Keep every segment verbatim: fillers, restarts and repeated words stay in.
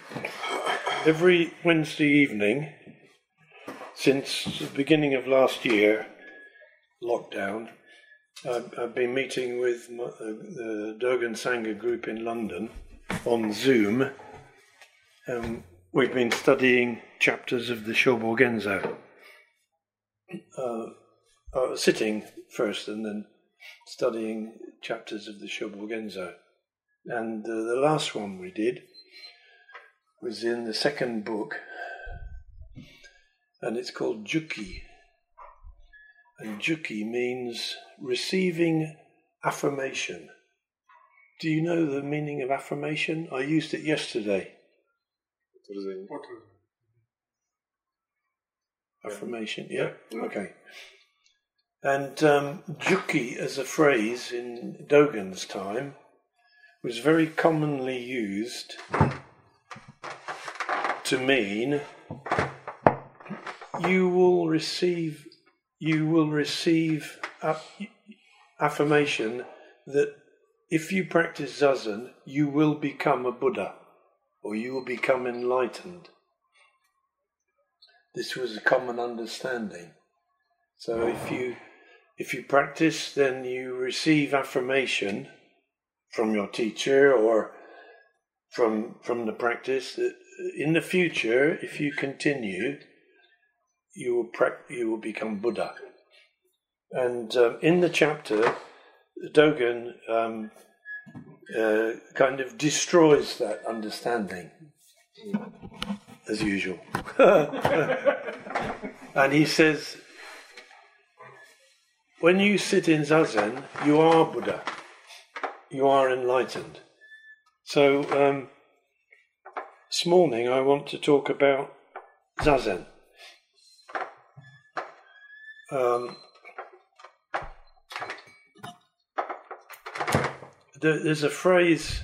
Every Wednesday evening, since the beginning of last year, lockdown, I've, I've been meeting with my, uh, the Dogen Sangha group in London on Zoom. Um, we've been studying chapters of the Shobo Genzo. Uh, uh, sitting first and then studying chapters of the Shobo Genzo. And uh, the last one we did was in the second book, and it's called Juki. And Juki means receiving affirmation. Do you know the meaning of affirmation? I used it yesterday. Affirmation, yeah? Okay. And um, Juki as a phrase in Dogen's time was very commonly used to mean you will receive you will receive affirmation that if you practice Zazen, you will become a Buddha, or you will become enlightened. This was a common understanding. So if you if you practice, then you receive affirmation from your teacher or from from the practice that in the future, if you continue, you will pra- you will become Buddha. And um, in the chapter, Dogen um, uh, kind of destroys that understanding, as usual. And he says, when you sit in Zazen, you are Buddha. You are enlightened. So um, this morning I want to talk about Zazen. Um, there's a phrase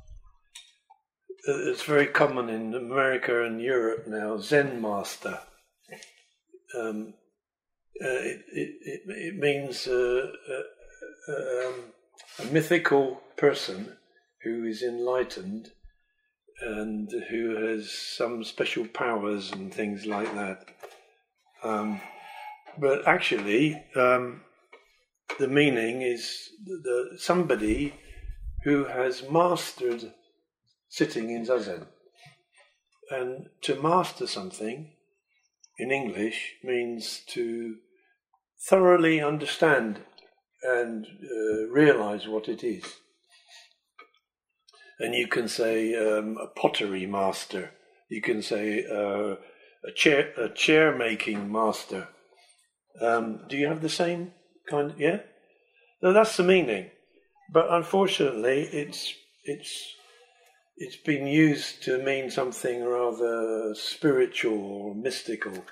that's very common in America and Europe now, Zen master. Um, uh, it, it, it means uh, uh, um, a mythical person who is enlightened and who has some special powers and things like that. Um, but actually, um, the meaning is the, somebody who has mastered sitting in Zazen. And to master something, in English, means to thoroughly understand and uh, realize what it is. And you can say um, a pottery master. You can say uh, a chair a chair making master. Um, do you have the same kind? Of, yeah. No, that's the meaning. But unfortunately, it's it's it's been used to mean something rather spiritual or mystical.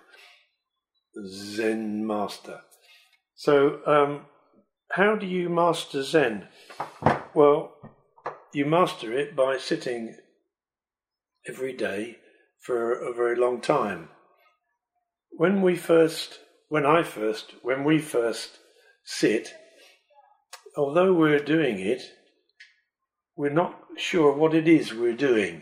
Zen master. So, um, how do you master Zen? Well, you master it by sitting every day for a very long time. When we first, when I first, when we first sit, although we're doing it, we're not sure what it is we're doing.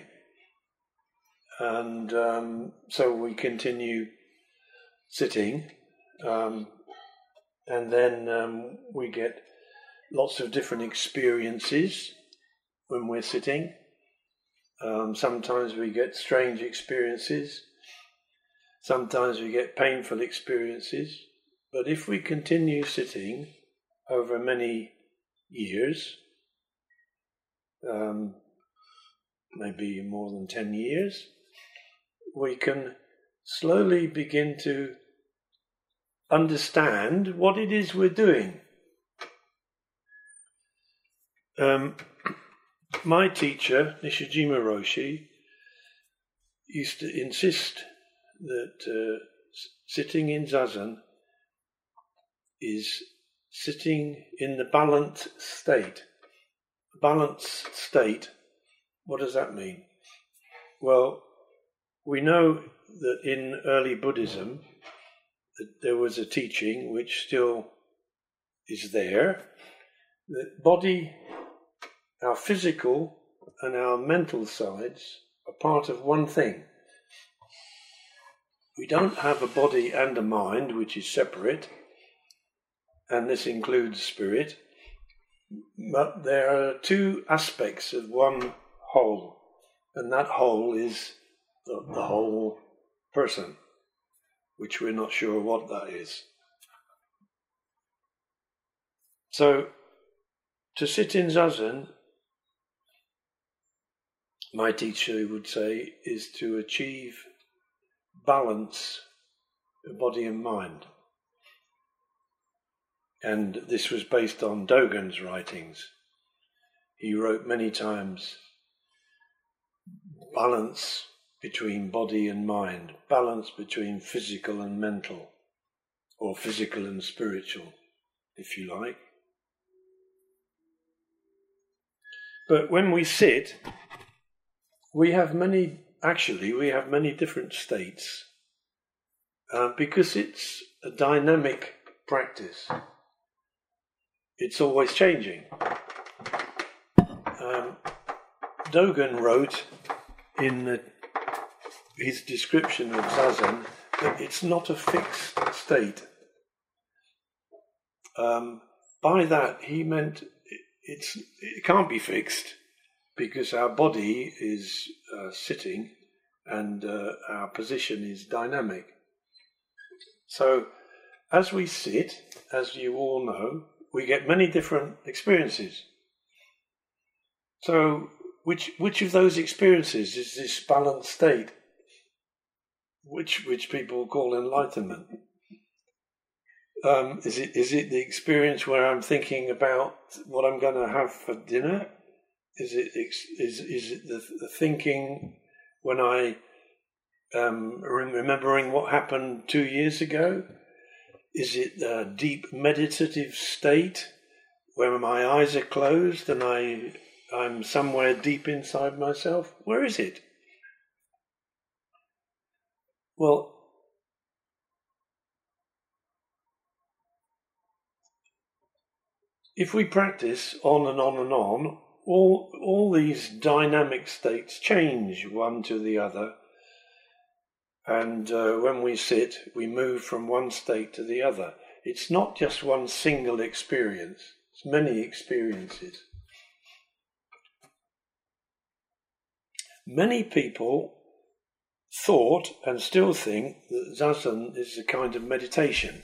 And um, so we continue sitting, um, and then um, we get lots of different experiences when we're sitting. Um, sometimes we get strange experiences. Sometimes we get painful experiences. But if we continue sitting over many years, um, maybe more than ten years, we can slowly begin to understand what it is we're doing. Um, my teacher, Nishijima Roshi, used to insist that uh, sitting in Zazen is sitting in the balanced state. Balanced state, what does that mean? Well, we know that in early Buddhism that there was a teaching which still is there, that body, our physical and our mental sides are part of one thing. We don't have a body and a mind which is separate, and this includes spirit, but there are two aspects of one whole, and that whole is the, the whole person, which we're not sure what that is. So, to sit in Zazen, my teacher would say, is to achieve balance of body and mind. And this was based on Dogen's writings. He wrote many times, balance between body and mind, balance between physical and mental, or physical and spiritual, if you like. But when we sit, we have many, actually, we have many different states, uh, because it's a dynamic practice. It's always changing. Um, Dogen wrote in the, his description of Zazen that it's not a fixed state. Um, by that he meant it, it's, it can't be fixed because our body is uh, sitting and uh, our position is dynamic. So as we sit, as you all know, we get many different experiences. So, which which of those experiences is this balanced state, which which people call enlightenment? Um, is it is it the experience where I'm thinking about what I'm going to have for dinner? Is it is is it the, the thinking when I um, remembering what happened two years ago? Is it a deep meditative state where my eyes are closed and I, I'm somewhere deep inside myself? Where is it? Well, if we practice on and on and on, all, all these dynamic states change one to the other. And uh, when we sit, we move from one state to the other. It's not just one single experience. It's many experiences. Many people thought and still think that Zazen is a kind of meditation.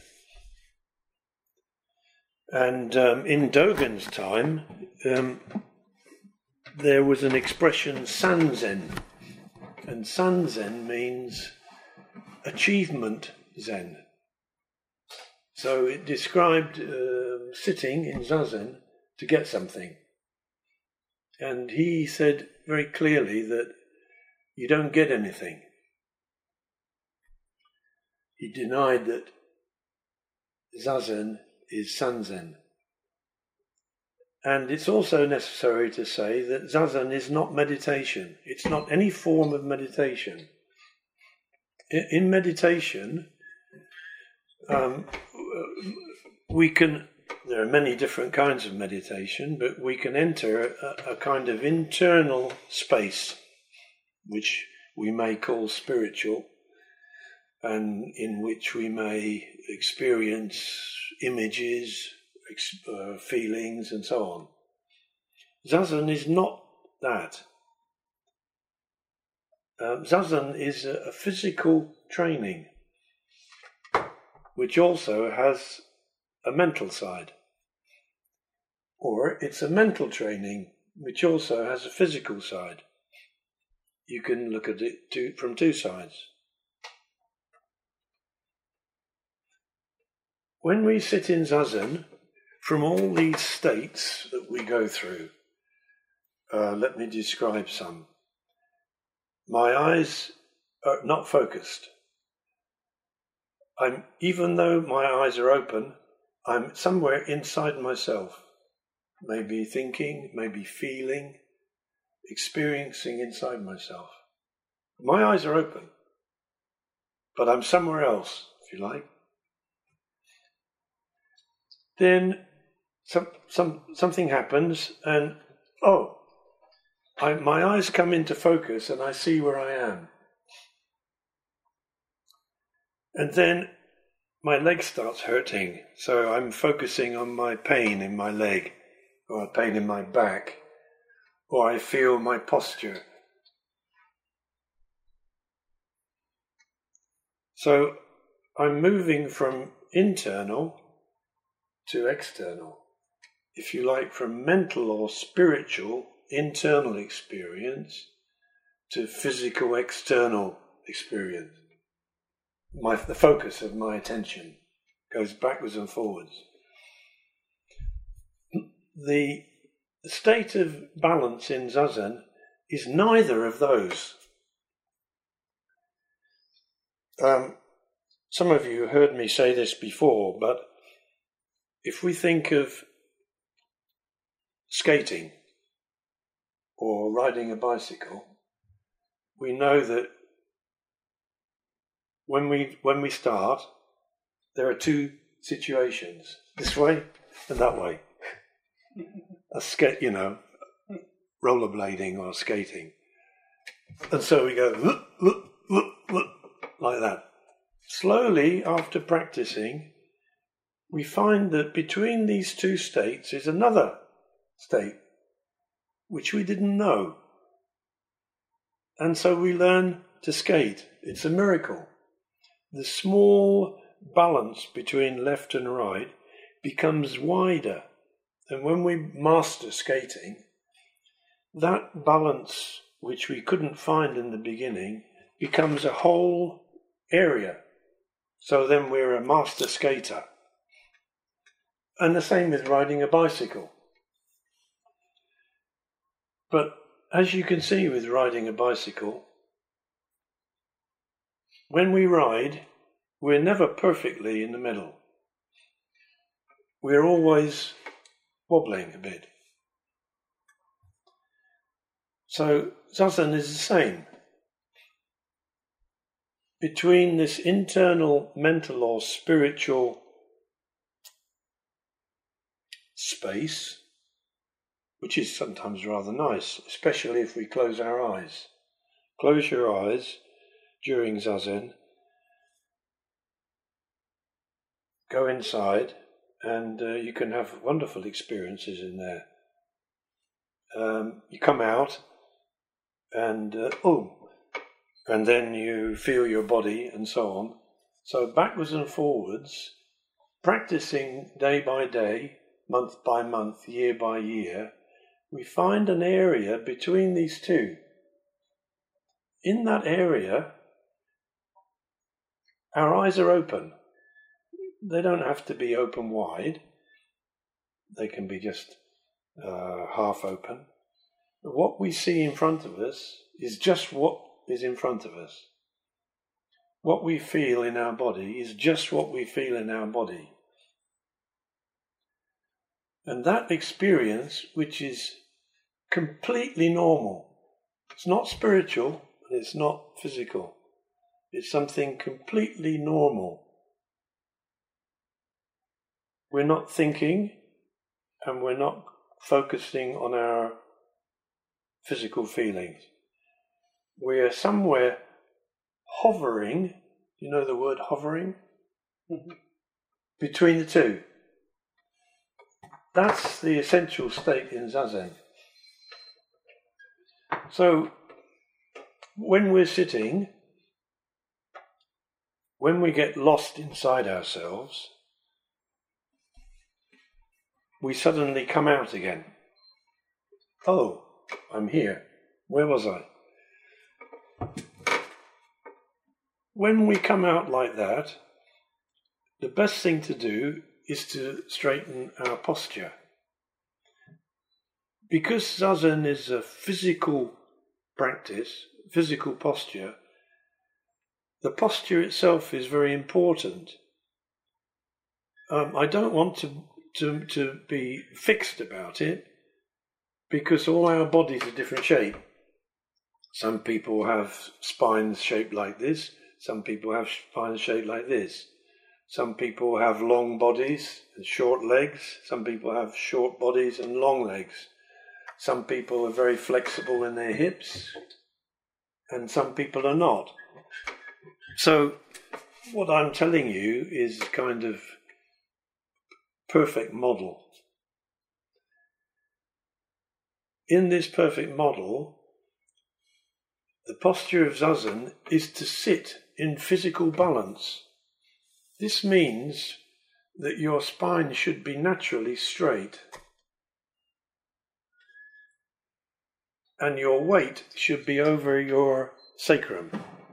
And um, in Dogen's time, um, there was an expression, Sanzen. And Sanzen means achievement Zen. So it described uh, sitting in Zazen to get something. And he said very clearly that you don't get anything. He denied that Zazen is Sanzen. And it's also necessary to say that Zazen is not meditation. It's not any form of meditation. In meditation, um, we can, there are many different kinds of meditation, but we can enter a, a kind of internal space, which we may call spiritual, and in which we may experience images, uh, feelings, and so on. Zazen is not that. Um, Zazen is a, a physical training, which also has a mental side. Or it's a mental training, which also has a physical side. You can look at it two, from two sides. When we sit in Zazen, from all these states that we go through, uh, let me describe some. My eyes are not focused. I'm, even though my eyes are open, I'm somewhere inside myself, maybe thinking, maybe feeling, experiencing inside myself. My eyes are open, but I'm somewhere else, if you like. Then some, some, something happens and, oh, I, my eyes come into focus and I see where I am. And then my leg starts hurting, so I'm focusing on my pain in my leg, or pain in my back, or I feel my posture. So I'm moving from internal to external, if you like, from mental or spiritual internal experience to physical external experience. My, the focus of my attention goes backwards and forwards. The state of balance in Zazen is neither of those. Um, some of you heard me say this before, but if we think of skating or riding a bicycle, we know that when we when we start, there are two situations: this way and that way. A skate, you know, rollerblading or skating, and so we go look, look, look, look, like that. Slowly, after practicing, we find that between these two states is another state which we didn't know, and so we learn to skate. It's a miracle. The small balance between left and right becomes wider, and when we master skating, that balance which we couldn't find in the beginning becomes a whole area. So then we're a master skater. And the same with riding a bicycle. But as you can see with riding a bicycle, when we ride, we're never perfectly in the middle. We're always wobbling a bit. So Zazen is the same. Between this internal mental or spiritual space, which is sometimes rather nice, especially if we close our eyes. Close your eyes during Zazen, go inside, and uh, you can have wonderful experiences in there. Um, you come out, and uh, oh, and then you feel your body and so on. So backwards and forwards, practicing day by day, month by month, year by year, we find an area between these two. In that area, our eyes are open. They don't have to be open wide. They can be just uh, half open. But what we see in front of us is just what is in front of us. What we feel in our body is just what we feel in our body. And that experience, which is completely normal, it's not spiritual and it's not physical. It's something completely normal. We're not thinking and we're not focusing on our physical feelings. We're somewhere hovering, you know the word hovering? Mm-hmm. Between the two. That's the essential state in Zazen. So, when we're sitting, when we get lost inside ourselves, we suddenly come out again. Oh, I'm here. Where was I? When we come out like that, the best thing to do is to straighten our posture. Because Zazen is a physical practice, physical posture, the posture itself is very important. Um, I don't want to, to, to be fixed about it, because all our bodies are different shape. Some people have spines shaped like this, some people have spines shaped like this. Some people have long bodies and short legs, some people have short bodies and long legs. Some people are very flexible in their hips, and some people are not. So what I'm telling you is kind of perfect model. In this perfect model, the posture of Zazen is to sit in physical balance. This means that your spine should be naturally straight, and your weight should be over your sacrum.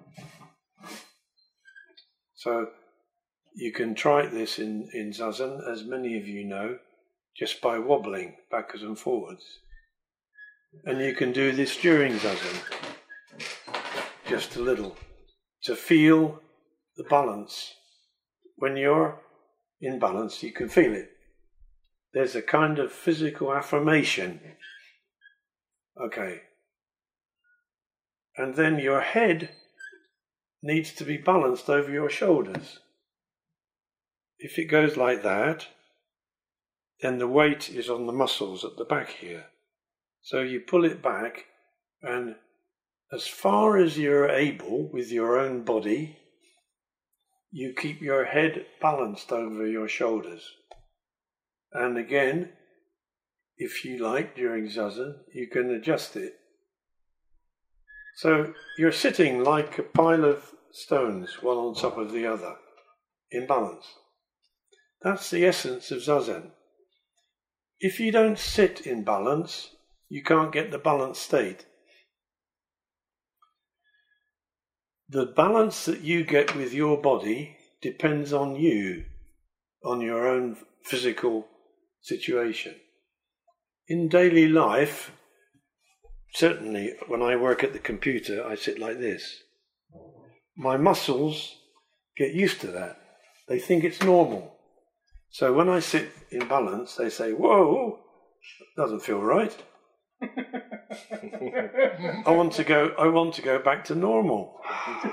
So you can try this in, in Zazen, as many of you know, just by wobbling backwards and forwards. And you can do this during Zazen, just a little, to feel the balance. When you're in balance, you can feel it. There's a kind of physical affirmation. Okay. And then your head needs to be balanced over your shoulders. If it goes like that, then the weight is on the muscles at the back here. So you pull it back, and as far as you're able with your own body, you keep your head balanced over your shoulders. And again, if you like, during Zazen, you can adjust it. So you're sitting like a pile of stones, one on top of the other, in balance. That's the essence of Zazen. If you don't sit in balance, you can't get the balanced state. The balance that you get with your body depends on you, on your own physical situation. In daily life, certainly when I work at the computer, I sit like this. My muscles get used to that. They think it's normal. So when I sit in balance, they say, "Whoa, doesn't feel right." I want to go. I want to go back to normal.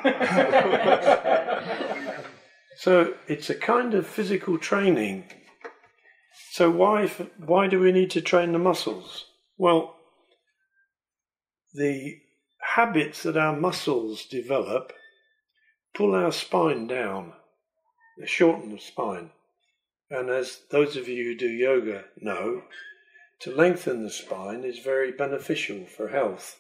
So it's a kind of physical training. So why why do we need to train the muscles? Well, the habits that our muscles develop pull our spine down. They shorten the spine. And as those of you who do yoga know, to lengthen the spine is very beneficial for health.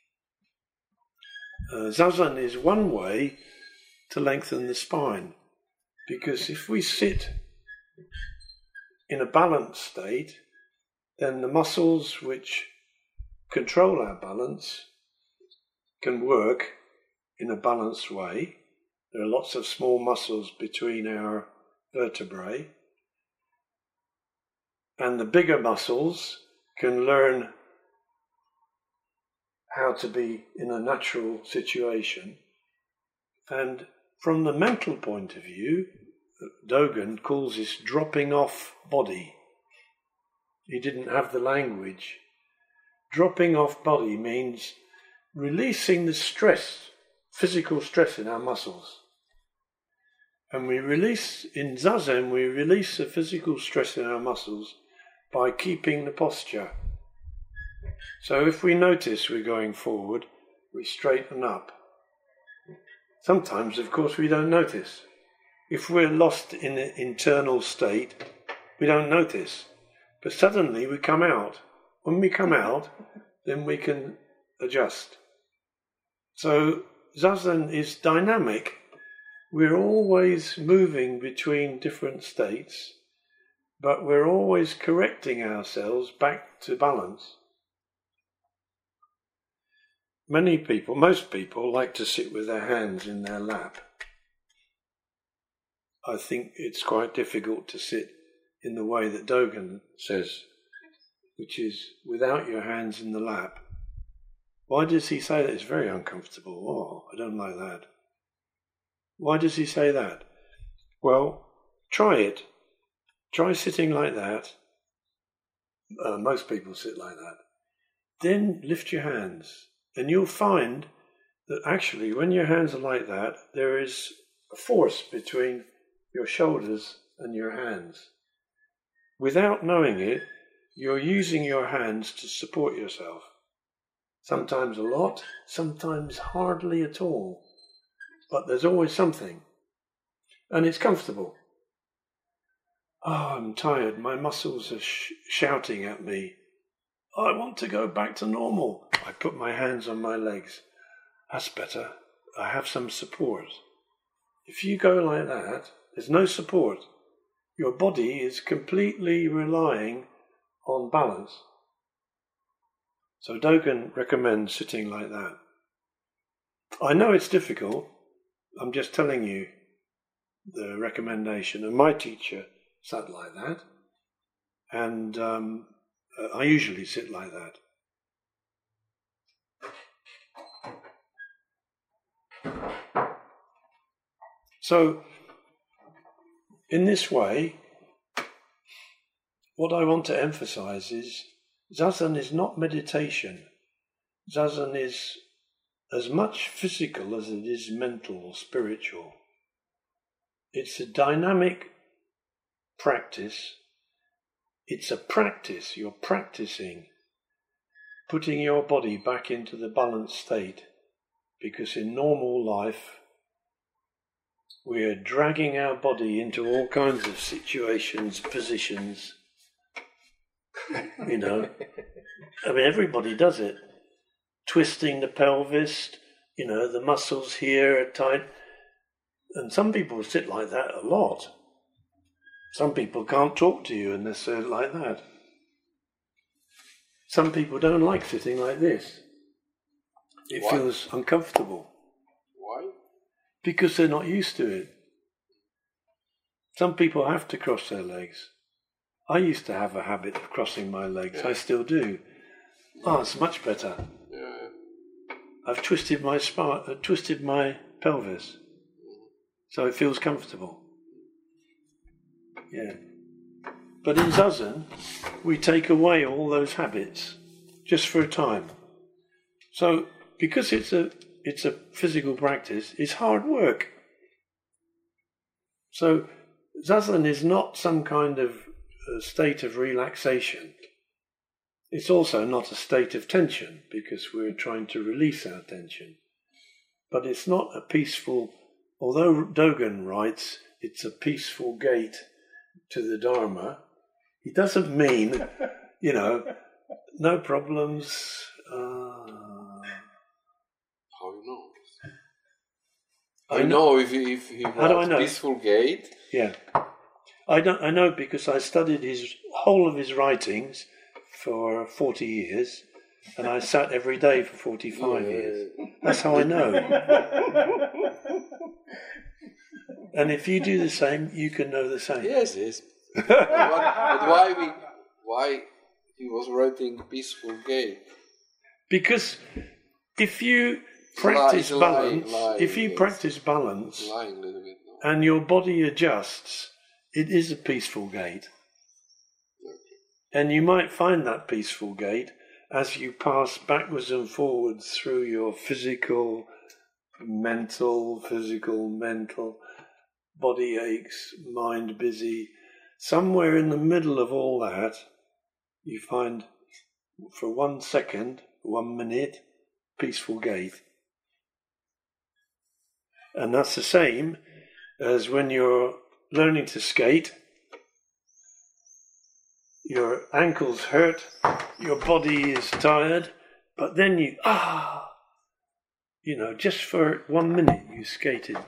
Uh, Zazen is one way to lengthen the spine, because if we sit in a balanced state, then the muscles which control our balance can work in a balanced way. There are lots of small muscles between our vertebrae, and the bigger muscles can learn how to be in a natural situation. And from the mental point of view, Dogen calls this dropping off body. He didn't have the language. Dropping off body means releasing the stress, physical stress in our muscles. And we release, in Zazen, we release the physical stress in our muscles by keeping the posture. So if we notice we're going forward, we straighten up. Sometimes, of course, we don't notice. If we're lost in an internal state, we don't notice. But suddenly we come out. When we come out, then we can adjust. So Zazen is dynamic. We're always moving between different states, but we're always correcting ourselves back to balance. Many people, most people, like to sit with their hands in their lap. I think it's quite difficult to sit in the way that Dogen says, which is without your hands in the lap. Why does he say that? It's very uncomfortable. Oh, I don't like that. Why does he say that? Well, try it. Try sitting like that. Uh, most people sit like that. Then lift your hands, and you'll find that actually when your hands are like that, there is a force between your shoulders and your hands. Without knowing it, you're using your hands to support yourself. Sometimes a lot, sometimes hardly at all. But there's always something. And it's comfortable. Oh, I'm tired. My muscles are sh- shouting at me. I want to go back to normal. I put my hands on my legs. That's better. I have some support. If you go like that, there's no support. Your body is completely relying on balance. So Dogen recommends sitting like that. I know it's difficult. I'm just telling you the recommendation. And my teacher sat like that. And um, I usually sit like that. So, in this way, what I want to emphasize is Zazen is not meditation. Zazen is as much physical as it is mental or spiritual. It's a dynamic practice. It's a practice. You're practicing putting your body back into the balanced state, because in normal life we're dragging our body into all kinds of situations, positions. You know, I mean, everybody does it. Twisting the pelvis, you know, the muscles here are tight. And some people sit like that a lot. Some people can't talk to you unless they're like that. Some people don't like sitting like this. It Why? feels uncomfortable. Why? Because they're not used to it. Some people have to cross their legs. I used to have a habit of crossing my legs. Yeah. I still do. Oh, it's much better. Yeah. I've twisted my spine, uh, twisted my pelvis, so it feels comfortable. Yeah. But in Zazen, we take away all those habits just for a time. So because it's a it's a physical practice, it's hard work. So Zazen is not some kind of uh, state of relaxation. It's also not a state of tension, because we're trying to release our tension. But it's not a peaceful, although Dogen writes it's a peaceful gate to the Dharma, he doesn't mean, you know, no problems. Uh, How you know? I I know. know if he, if he How do I writes know? Peaceful Gate. Yeah. I don't. I know because I studied his whole of his writings for forty years, and I sat every day for forty-five Yeah. years. That's how I know. And if you do the same, you can know the same. Yes, yes. but, but why we? Why he was writing Peaceful Gate? Because if you practice It's lying, balance, lying, if you yes. practice balance, It's lying a little bit. No? and your body adjusts, it is a peaceful gate. And you might find that peaceful gate as you pass backwards and forwards through your physical, mental, physical, mental, body aches, mind busy. Somewhere in the middle of all that, you find, for one second, one minute, peaceful gate. And that's the same as when you're learning to skate. Your ankles hurt, your body is tired, but then you, ah, you know, just for one minute you skated.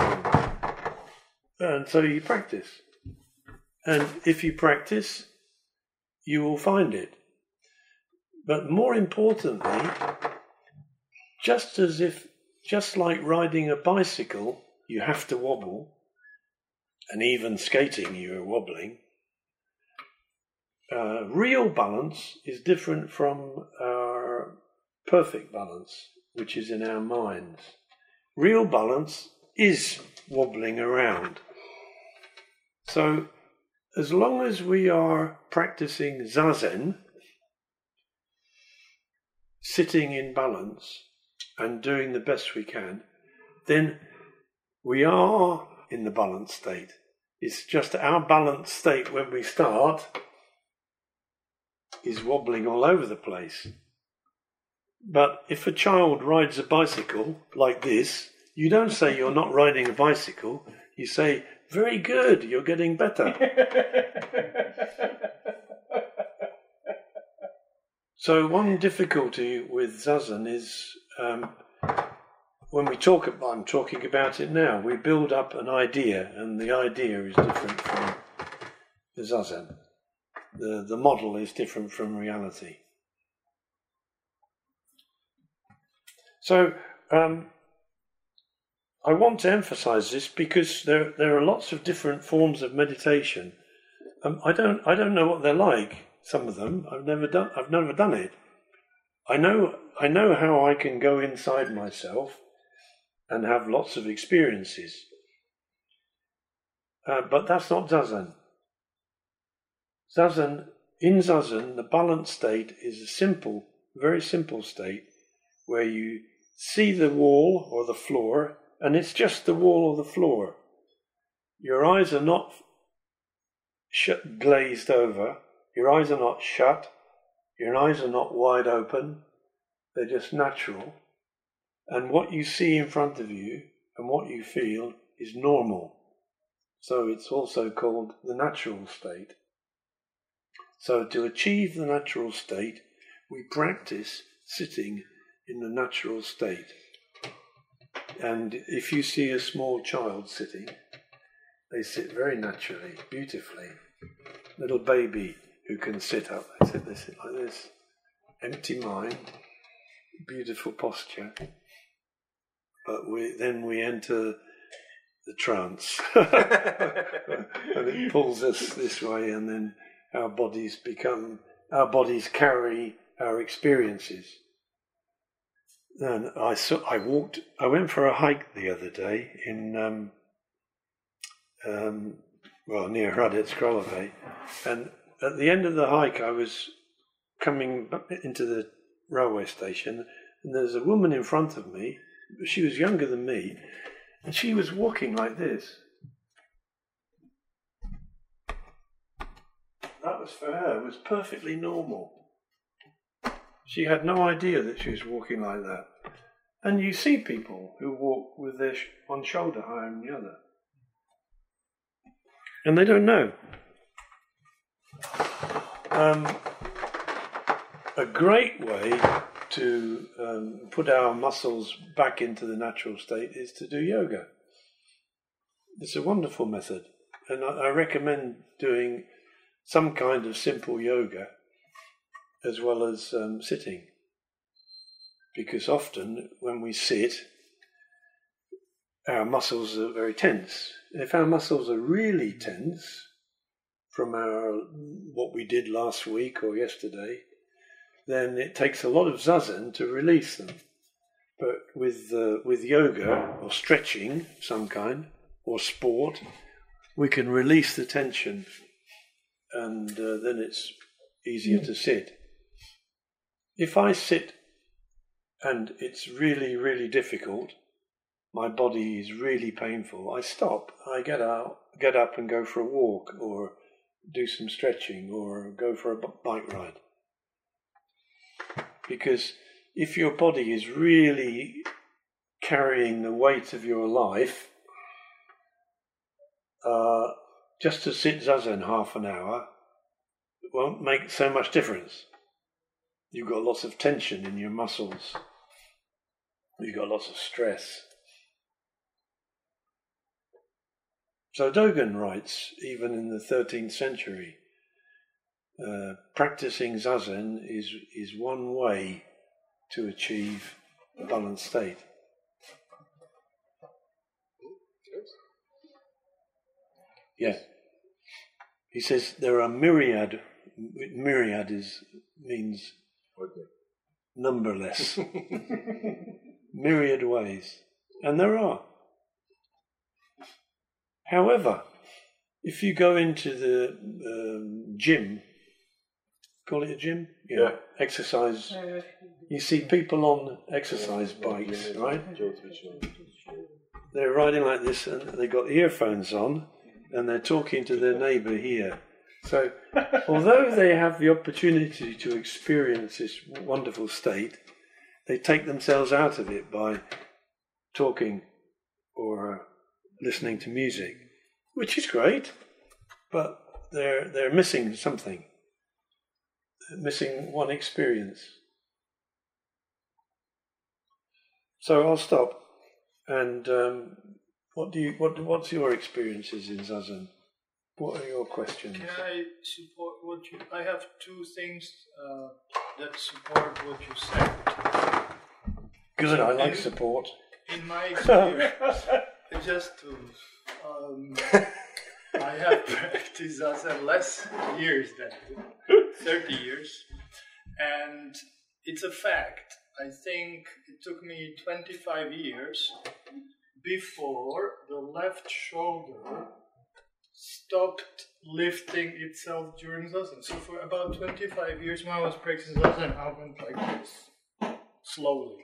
And so you practice. And if you practice, you will find it. But more importantly, just as if, just like riding a bicycle, you have to wobble, and even skating you're wobbling, uh, real balance is different from our perfect balance, which is in our minds. Real balance is wobbling around. So, as long as we are practicing Zazen, sitting in balance and doing the best we can, then we are in the balanced state. It's just our balanced state when we start is wobbling all over the place. But if a child rides a bicycle like this, you don't say you're not riding a bicycle. You say, very good, you're getting better. So one difficulty with Zazen is um, when we talk about, I'm talking about it now, we build up an idea, and the idea is different from the Zazen. The, the model is different from reality. So um, I want to emphasize this because there there are lots of different forms of meditation. Um, I don't I don't know what they're like. Some of them I've never done. I've never done it. I know I know how I can go inside myself and have lots of experiences. Uh, but that's not Zazen. Zazen in Zazen, the balanced state is a simple, very simple state where you see the wall or the floor, and it's just the wall or the floor. Your eyes are not shut, glazed over. Your eyes are not shut. Your eyes are not wide open. They're just natural. And what you see in front of you and what you feel is normal. So it's also called the natural state. So to achieve the natural state, we practice sitting in the natural state. And if you see a small child sitting, they sit very naturally, beautifully. Little baby who can sit up, they sit, they sit like this. Empty mind, beautiful posture. But we, then we enter the trance. And it pulls us this way, and then our bodies become, our bodies carry our experiences. And I saw, I walked, I went for a hike the other day in, um, um, well, near Hradec Králové, and at the end of the hike I was coming into the railway station, and there's a woman in front of me. She was younger than me, and she was walking like this. That was for her, it was perfectly normal. She had no idea that she was walking like that. And you see people who walk with their sh- one shoulder higher than the other. And they don't know. Um, a great way to um, put our muscles back into the natural state is to do yoga. It's a wonderful method. And I, I recommend doing some kind of simple yoga as well as um, sitting, because often when we sit, our muscles are very tense. If our muscles are really tense from our what we did last week or yesterday, then it takes a lot of zazen to release them. But with uh, with yoga or stretching of some kind or sport, we can release the tension, and uh, then it's easier to sit. If I sit and it's really, really difficult, my body is really painful, I stop. I get out, get up and go for a walk, or do some stretching, or go for a bike ride. Because if your body is really carrying the weight of your life, uh, just to sit zazen half an hour won't make so much difference. You've got lots of tension in your muscles. You've got lots of stress. So Dogen writes, even in the thirteenth century, uh, practicing zazen is, is one way to achieve a balanced state. Yeah. He says there are myriad, myriad is, means numberless, myriad ways. And there are. However, if you go into the um, gym, call it a gym? Yeah. yeah. Exercise. You see people on exercise bikes, right? They're riding like this and they've got earphones on and they're talking to their neighbour here. So, although they have the opportunity to experience this wonderful state, they take themselves out of it by talking or uh, listening to music, which is great, but they're they're missing something. They're missing one experience. So I'll stop. And um, what do you what what's your experiences in Zazen? What are your questions? Can I support what you? I have two things uh, that support what you said. Good, I like support. In my experience, just to, um, I have practiced Zazen less years than thirty years, and it's a fact. I think it took me twenty-five years before the left shoulder stopped lifting itself during Zazen. So for about twenty-five years when I was practicing Zazen, I went like this, slowly.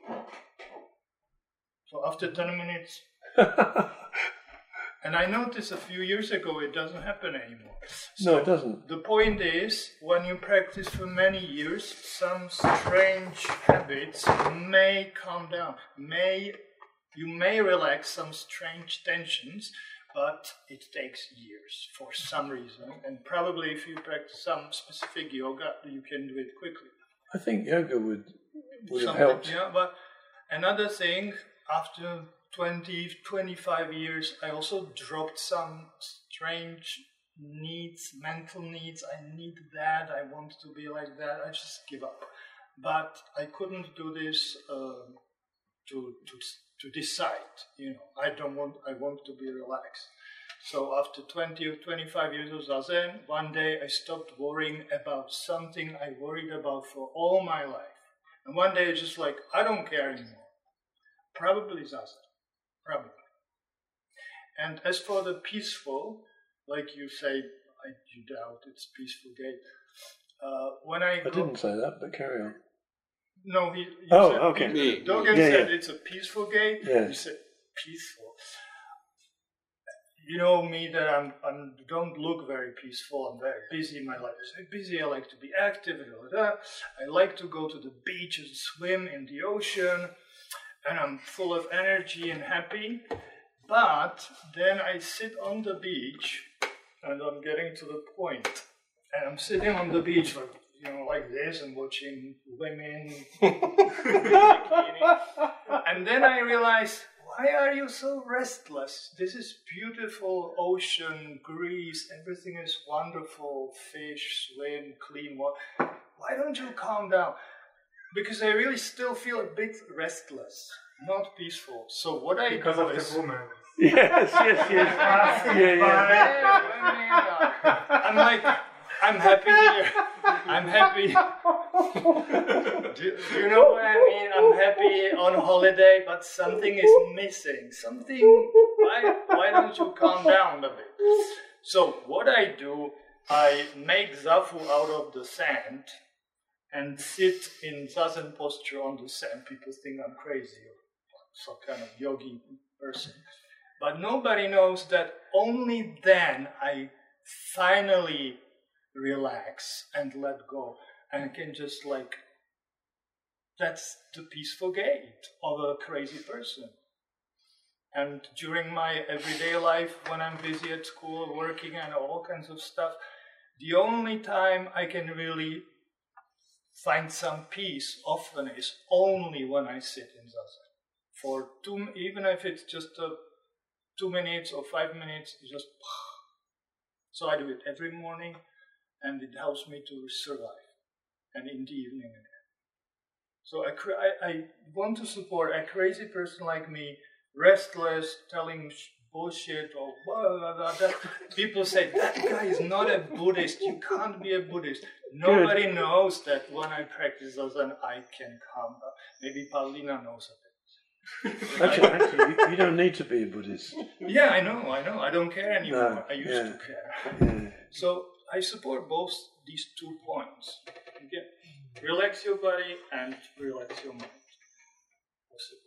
So after ten minutes, and I noticed a few years ago it doesn't happen anymore. So no, it doesn't. The point is, when you practice for many years, some strange habits may calm down. May you may relax some strange tensions, but it takes years for some reason. And probably if you practice some specific yoga, you can do it quickly. I think yoga would would have Something, helped. Yeah, but another thing, after twenty, twenty-five years, I also dropped some strange needs, mental needs. I need that, I want to be like that, I just give up. But I couldn't do this uh, to, to to decide, you know, I don't want, I want to be relaxed. So after twenty or twenty-five years of Zazen, one day I stopped worrying about something I worried about for all my life. And one day it's just like, I don't care anymore. Probably Zazen, probably. And as for the peaceful, like you say, I, you doubt it's peaceful gate. Uh, when I, I go, didn't say that, but carry on. No, he, you Oh, said okay. peaceful. Dogen Yeah, said yeah. it's a peaceful gate. Yeah. You said peaceful. You know me that I'm I'm don't look very peaceful. I'm very busy. My life is very busy. I like to be active. Blah, blah, blah. I like to go to the beach and swim in the ocean, and I'm full of energy and happy. But then I sit on the beach, and I'm getting to the point, and I'm sitting on the beach like, you know, like this, and watching women bikini. And then I realized, why are you so restless? This is beautiful ocean, Greece, everything is wonderful, fish, swim, clean water. Why don't you calm down? Because I really still feel a bit restless, not peaceful. So what I Because do of is, the woman. Yes, yes, yes. yeah, yeah. I'm like, I'm happy here. I'm happy. do, do you know what I mean? I'm happy on holiday, but something is missing. Something. Why? Why don't you calm down a bit? So what I do, I make zafu out of the sand and sit in Zazen posture on the sand. People think I'm crazy or some kind of yogi person. But nobody knows that only then I finally relax and let go. And I can just like, that's the peaceful gate of a crazy person. And during my everyday life, when I'm busy at school, working and all kinds of stuff, the only time I can really find some peace often is only when I sit in Zazen. For two, even if it's just a two minutes or five minutes, just. So I do it every morning, and it helps me to survive. And in the evening again. So I, I, I want to support a crazy person like me, restless, telling bullshit or blah, blah, blah. That, people say, that guy is not a Buddhist, you can't be a Buddhist. Nobody Good. knows that when I practice Zazen, I can calm down. Maybe Paulina knows a bit. Actually, actually you, you don't need to be a Buddhist. Yeah, I know, I know. I don't care anymore. No, I used yeah. to care. Yeah. So I support both these two points. Okay? Relax your body and relax your mind. Possible.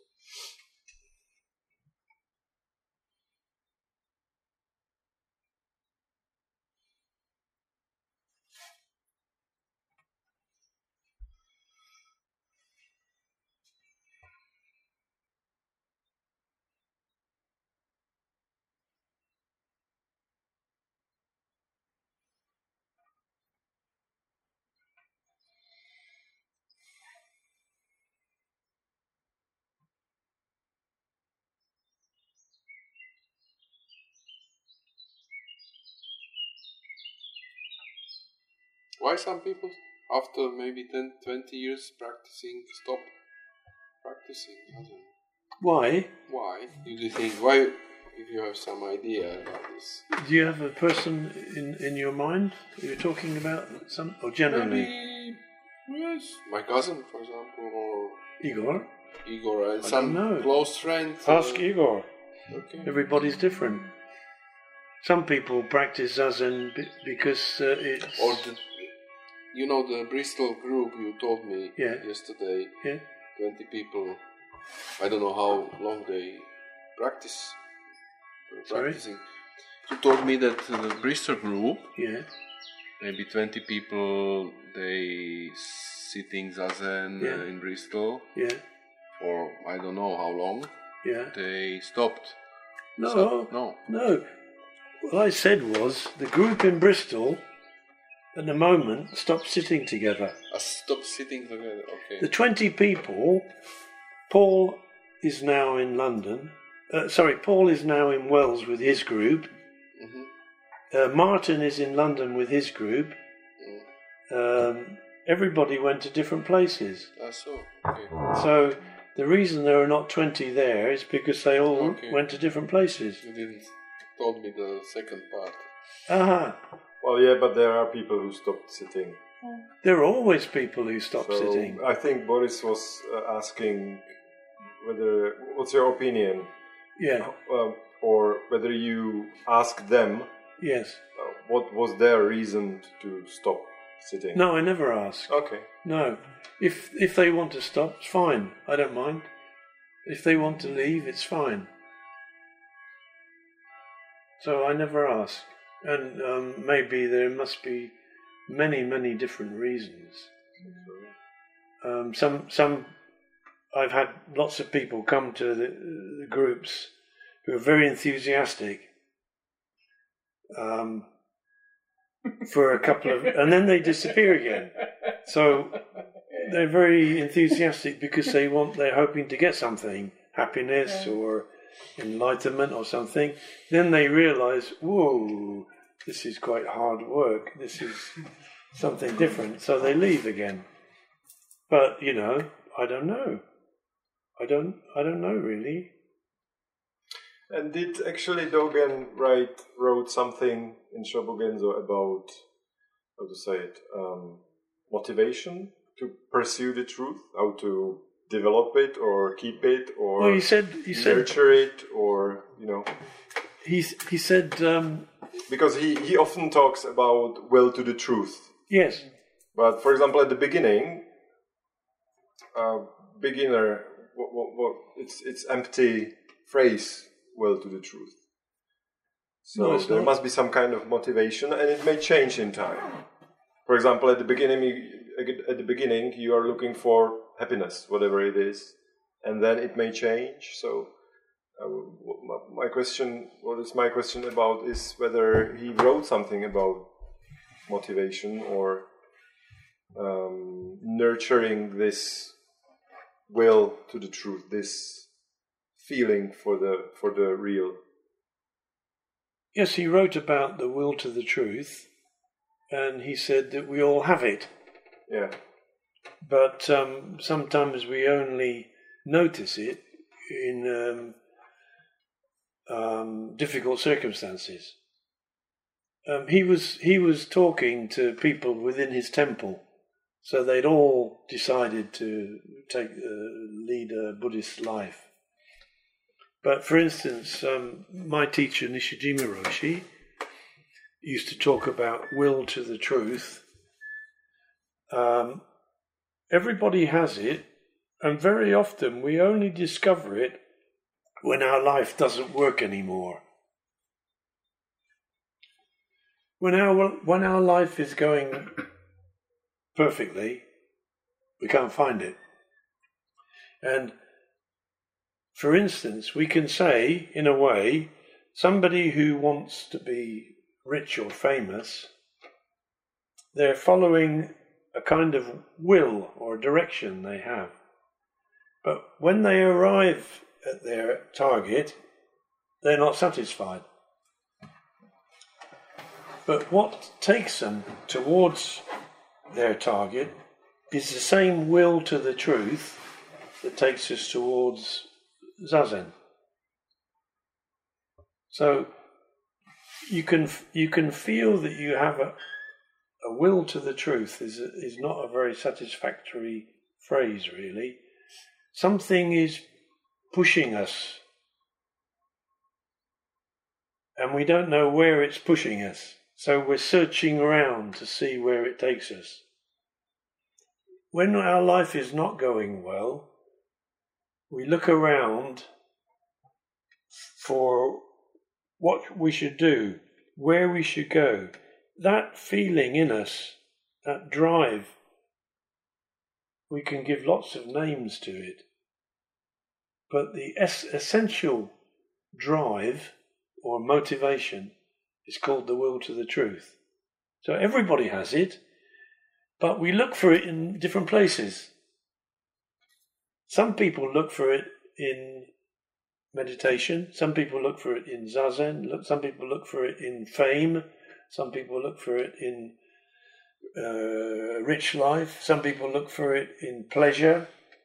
why some people after maybe ten, twenty years practicing stop practicing? I don't know. Why? Why do you think? Why, if you have some idea about this? Do you have a person in, in your mind you're talking about, some or generally? Maybe, yes, my cousin, for example, or Igor? Igor, and I some don't know. close friend. Ask uh, Igor. Okay. Everybody's different. Some people practice Zazen be- because uh, it's... Or the, you know, the Bristol group you told me Yeah. yesterday. Yeah. Twenty people. I don't know how long they practice. uh, Sorry? Practicing. You told me that uh, the Bristol group, Yeah. maybe twenty people, they sitting Zazen Yeah. uh, in Bristol Yeah. for I don't know how long. Yeah. They stopped. No. So- no. No. What I said was the group in Bristol at the moment stopped sitting together. I stopped sitting together. Okay. The twenty people, Paul is now in London. Uh, sorry, Paul is now in Wales with his group. Mhm. Uh, Martin is in London with his group. Um, everybody went to different places. I saw. Okay. So the reason there are not twenty there is because they all Okay. went to different places. You didn't told me the second part. Aha. Well, yeah, but there are people who stopped sitting. There are always people who stop So sitting. I think Boris was uh, asking whether, what's your opinion, Yeah. uh, or whether you ask them Yes. uh, what was their reason to stop sitting. No, I never ask. Okay. No. If if they want to stop, it's fine. I don't mind. If they want to leave, it's fine. So I never ask. And um, maybe there must be many, many different reasons. Um, some, some, I've had lots of people come to the, the groups who are very enthusiastic um, for a couple of, and then they disappear again. So they're very enthusiastic because they want, they're hoping to get something, happiness or enlightenment or something. Then they realize, whoa, this is quite hard work. This is something different. So they leave again. But, you know, I don't know. I don't, I don't know really. And did actually Dogen write wrote something in Shobogenzo about, how to say it, um, motivation to pursue the truth, how to develop it or keep it or Well, he said, he said, nurture it, or you know, he, he said, um, because he, he often talks about will to the truth. yes, But for example, at the beginning, uh, beginner, what, what, what, it's it's empty phrase, will to the truth. So No, it's there not. must be some kind of motivation, and it may change in time. For example, at the beginning, you, at the beginning, you are looking for happiness, whatever it is, and then it may change. So, uh, my, my question, what is my question about, is whether he wrote something about motivation or um, nurturing this will to the truth, this feeling for the for the real. yes, he wrote about the will to the truth, and he said that we all have it, Yeah. but um, sometimes we only notice it in um, um, difficult circumstances. Um, he was he was talking to people within his temple, so they'd all decided to take uh, lead a Buddhist life. But for instance, um, my teacher Nishijima Roshi used to talk about will to the truth. Um, everybody has it, and very often we only discover it when our life doesn't work anymore. When our when our life is going perfectly, we can't find it. And for instance, we can say, in a way, somebody who wants to be rich or famous, they're following a kind of will or direction they have. But when they arrive at their target, they're not satisfied. But what takes them towards their target, is the same will to the truth that takes us towards Zazen. So you can you can feel that you have a, a will to the truth is a, is not a very satisfactory phrase, really. Something is pushing us, and we don't know where it's pushing us. So we're searching around to see where it takes us. When our life is not going well, we look around for what we should do, where we should go. That feeling in us, that drive, we can give lots of names to it. But the es- essential drive or motivation is called the will to the truth. So everybody has it, but we look for it in different places. Some people look for it in meditation, some people look for it in Zazen, look, some people look for it in fame, some people look for it in uh, rich life, some people look for it in pleasure,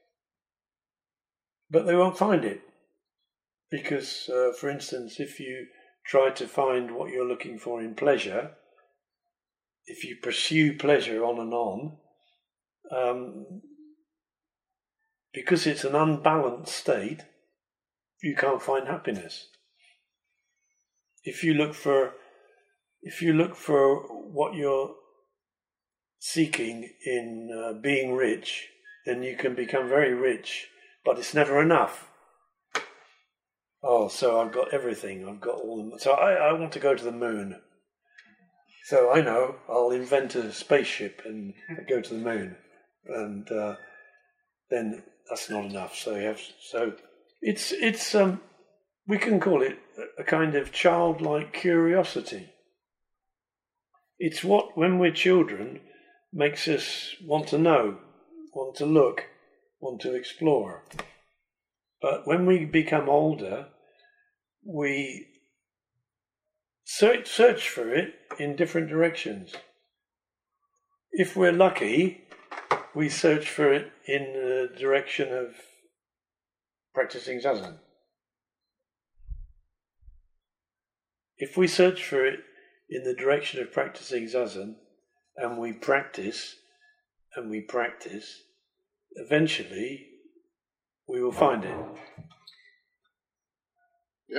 but they won't find it. Because, uh, for instance, if you try to find what you're looking for in pleasure, if you pursue pleasure on and on, um, because it's an unbalanced state, you can't find happiness. If you look for, if you look for what you're seeking in uh, being rich, then you can become very rich, but it's never enough. Oh, so I've got everything. I've got all the. So I, I want to go to the moon. So I know I'll invent a spaceship and go to the moon, and uh, then that's not enough. So you have. So it's it's um, we can call it a kind of childlike curiosity. It's what, when we're children, makes us want to know, want to look, want to explore. But when we become older, we search, search for it in different directions. If we're lucky, we search for it in the direction of practicing Zazen. If we search for it in the direction of practicing Zazen, and we practice, and we practice, eventually we will find it. Yeah.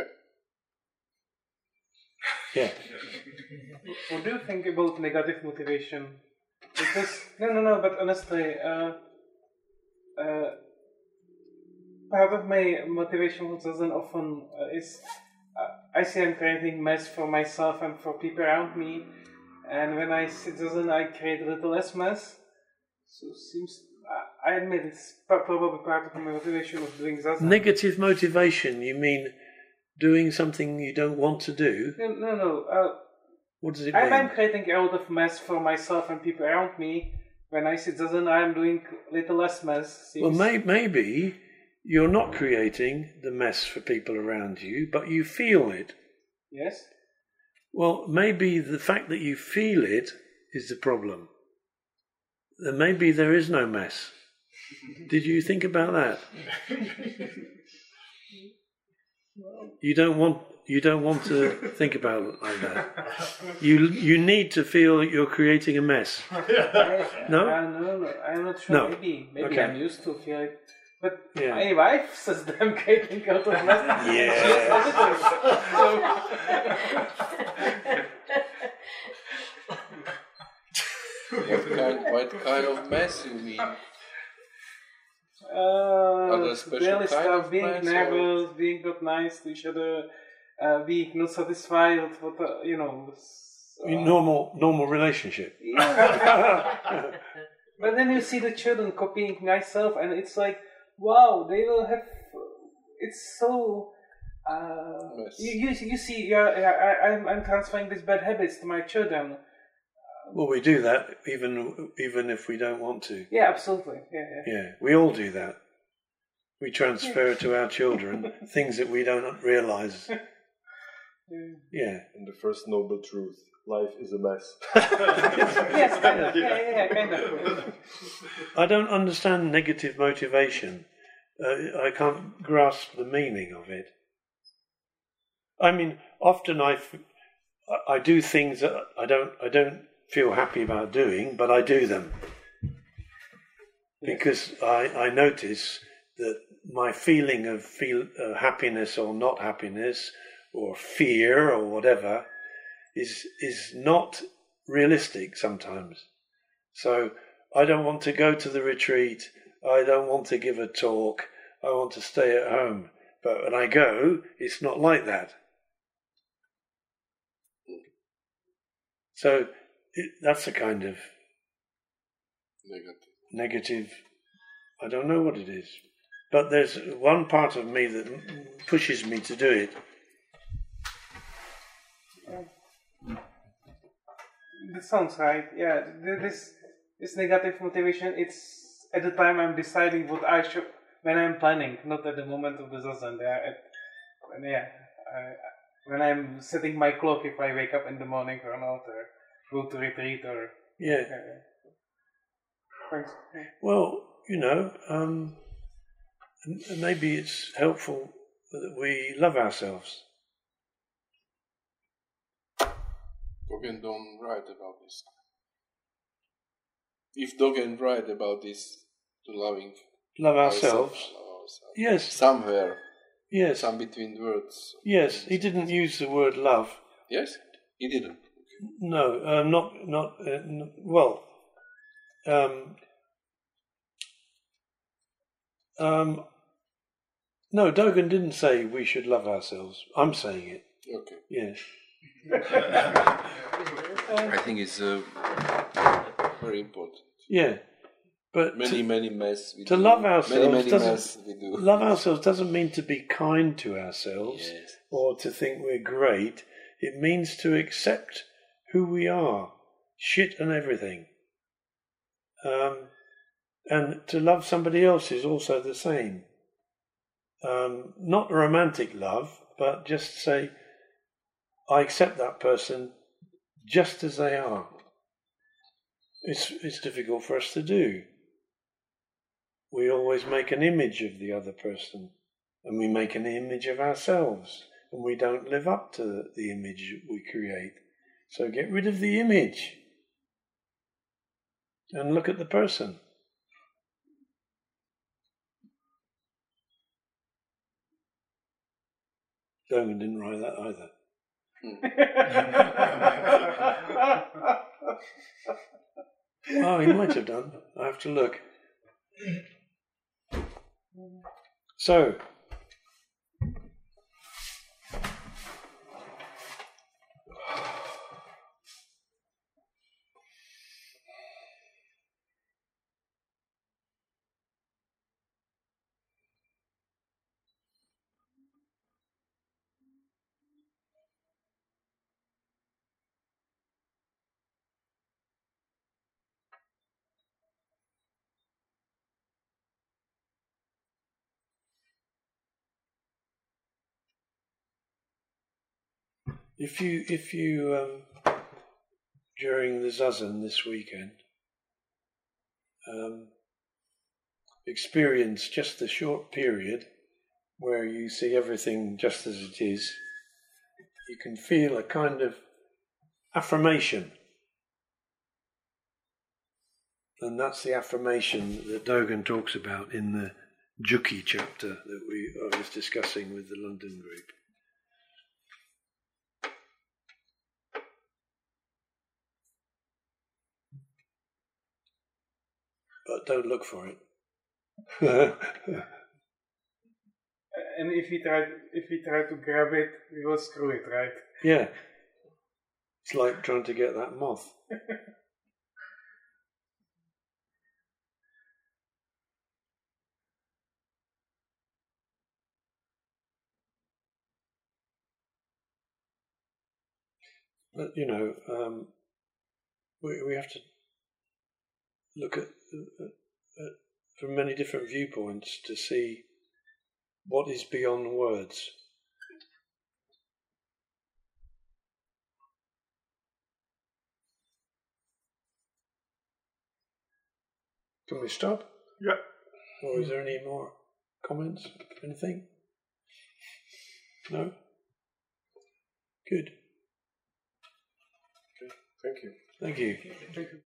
Yeah. What do you think about negative motivation? Because, no, no, no, but honestly, uh, uh, part of my motivation for Zazen often uh, is uh, I see I'm creating mess for myself and for people around me, and when I sit Zazen, I create a little less mess. So it seems, I admit it's probably part of my motivation of doing Zazen. Negative motivation, you mean doing something you don't want to do? No, no, no. Uh, what does it I'm, mean? I'm creating a lot of mess for myself and people around me. When I sit Zazen, I'm doing a little less mess. Seems. Well, may, maybe you're not creating the mess for people around you, but you feel it. Yes? Well, maybe the fact that you feel it is the problem. Then maybe there is no mess. Did you think about that? You don't want you don't want to think about it like that. You you need to feel that you're creating a mess. No? Uh, no, no, I'm not sure. No. Maybe, maybe Okay. I'm used to feel it. But Yeah. my wife says that I'm creating a lot of mess. Yeah. She's positive. What kind, what kind of mess you mean? Uh, there special daily kind stuff, of being mess, nervous, being not nice to each other, uh, being not satisfied with what, uh, you know. Uh, normal normal relationship. Yeah. But then you see the children copying myself, and it's like, wow, they will have. It's so. Uh, Yes. you, you you see, yeah, I, I'm I'm transferring these bad habits to my children. Well, we do that even even if we don't want to. Yeah, absolutely. Yeah, yeah. Yeah, we all do that. We transfer to our children things that we don't realise. Yeah. And the first noble truth life is a mess. Yes, kind of. Yeah, yeah, yeah, kind of. I don't understand negative motivation. Uh, I can't grasp the meaning of it. I mean, often I, f- I do things that I don't I don't feel happy about doing, but I do them because I, I notice that my feeling of feel uh, happiness or not happiness or fear or whatever is is not realistic sometimes. So I don't want to go to the retreat. I don't want to give a talk. I want to stay at home. But when I go, it's not like that. So it, that's a kind of Negative. negative, I don't know what it is. But there's one part of me that pushes me to do it. This sounds right. Yeah, th- this this negative motivation. It's at the time I'm deciding what I should when I'm planning, not at the moment of the zazen. Yeah, at, when, yeah. I, when I'm setting my clock, if I wake up in the morning or not, or go to retreat, or Yeah. yeah. Thanks. Yeah. Well, you know, um, m- maybe it's helpful that we love ourselves. Dogen don't write about this. If Dogen write about this, to loving Love ourselves. love ourselves. Yes, Somewhere, yes, some between words. yes. He didn't use the word love. Yes, he didn't. No, um, not not uh, n- well. Um, um, no, Dogen didn't say we should love ourselves. I'm saying it. Okay. Yes. I think it's uh, very important. Yeah, but Many, to, many mess. We to do. love ourselves Many, many doesn't mess we do. love ourselves doesn't mean to be kind to ourselves Yes. or to think we're great. It means to accept who we are, shit and everything. Um, and to love somebody else is also the same. Um, not romantic love, but just say, I accept that person just as they are. It's it's difficult for us to do. We always make an image of the other person, and we make an image of ourselves, and we don't live up to the image we create. So get rid of the image and look at the person. Dogen didn't write that either. Oh, he might have done. I have to look. So, if you if you um, during the zazen this weekend um, experience just a short period where you see everything just as it is, you can feel a kind of affirmation. And that's the affirmation that Dogen talks about in the Juki chapter that we I was discussing with the London group. But don't look for it. And if we try, if we try to grab it, we will screw it, right? Yeah. It's like trying to get that moth. But, you know, um, we, we have to look at, at, at from many different viewpoints to see what is beyond words. Can we stop? Yeah. Or is there any more comments? Anything? No? Good. Thank you. Thank you. Thank you.